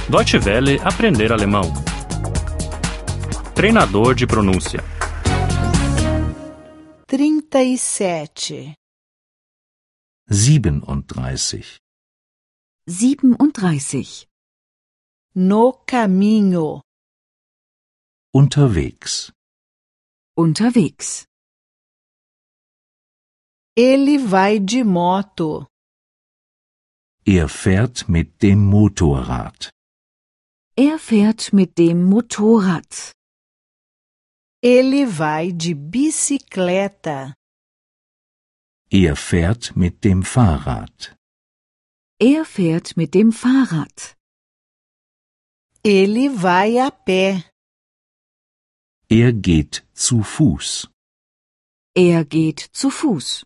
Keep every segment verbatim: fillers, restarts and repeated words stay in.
Deutsche Welle aprender alemão. Treinador de pronúncia. trinta e sete. siebenunddreißig. siebenunddreißig. No caminho. Unterwegs. Unterwegs. Ele vai de moto. Er fährt mit dem Motorrad. Er fährt mit dem Motorrad. Ele vai de bicicleta. Er fährt mit dem Fahrrad. Er fährt mit dem Fahrrad. Ele vai a pé. Er geht zu Fuß. Er geht zu Fuß.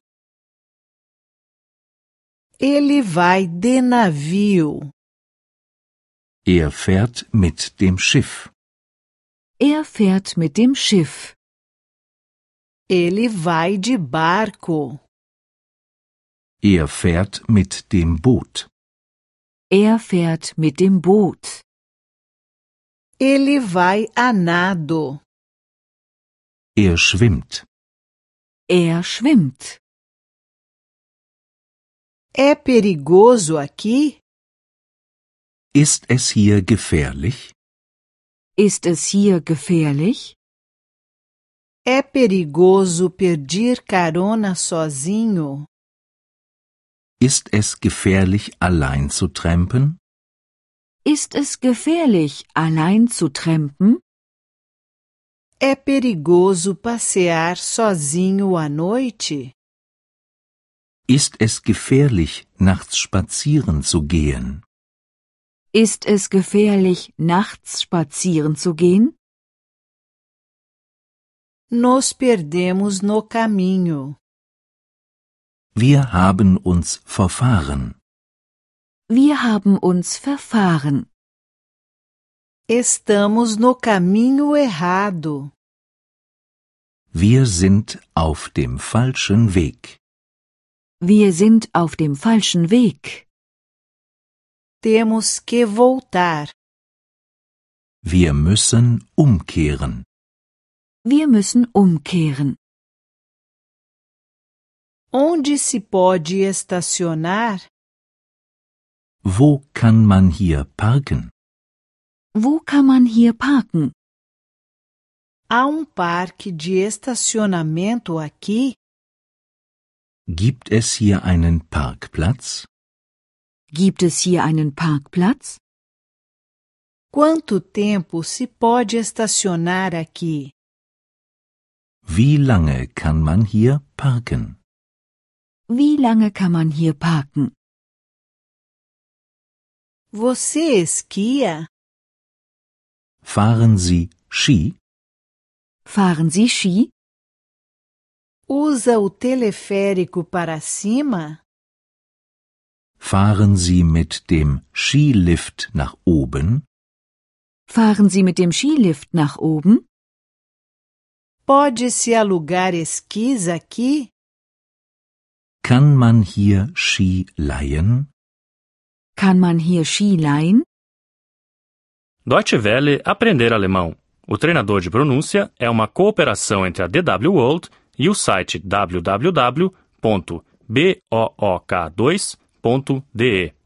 Ele vai de navio. Er fährt mit dem Schiff. Er fährt mit dem Schiff. Ele vai de barco. Er fährt mit dem Boot. Er fährt mit dem Boot. Ele vai a nado. Er schwimmt. Er schwimmt. É perigoso aqui? Ist es hier gefährlich? Ist es hier gefährlich? É perigoso pedir carona sozinho? Ist es gefährlich, allein zu trampen? Ist es gefährlich, allein zu trampen? É perigoso passear sozinho à noite? Ist es gefährlich, nachts spazieren zu gehen? Ist es gefährlich, nachts spazieren zu gehen? Nos perdemos no caminho. Wir haben uns verfahren. Wir haben uns verfahren. Estamos no caminho errado. Wir sind auf dem falschen Weg. Wir sind auf dem falschen Weg. Temos que voltar. Wir müssen umkehren. Wir müssen umkehren. Onde se pode estacionar? Wo kann man hier parken? Wo kann man hier parken? Há um parque de estacionamento aqui? Gibt es hier einen Parkplatz? Gibt es hier einen Parkplatz? Quanto tempo se pode estacionar aqui? Wie lange kann man hier parken? Wie lange kann man hier parken? Você esquia? Fahren Sie Ski? Fahren Sie Ski? Usa o teleférico para cima? Fahren Sie mit dem Skilift nach oben? Fahren Sie mit dem Skilift nach oben? Pode-se alugar esquis aqui? Kann man hier Ski leihen? Kann man hier Ski leihen? Deutsche Welle aprender alemão. O treinador de pronúncia é uma cooperação entre a D W World e o site w w w ponto book dois ponto d e.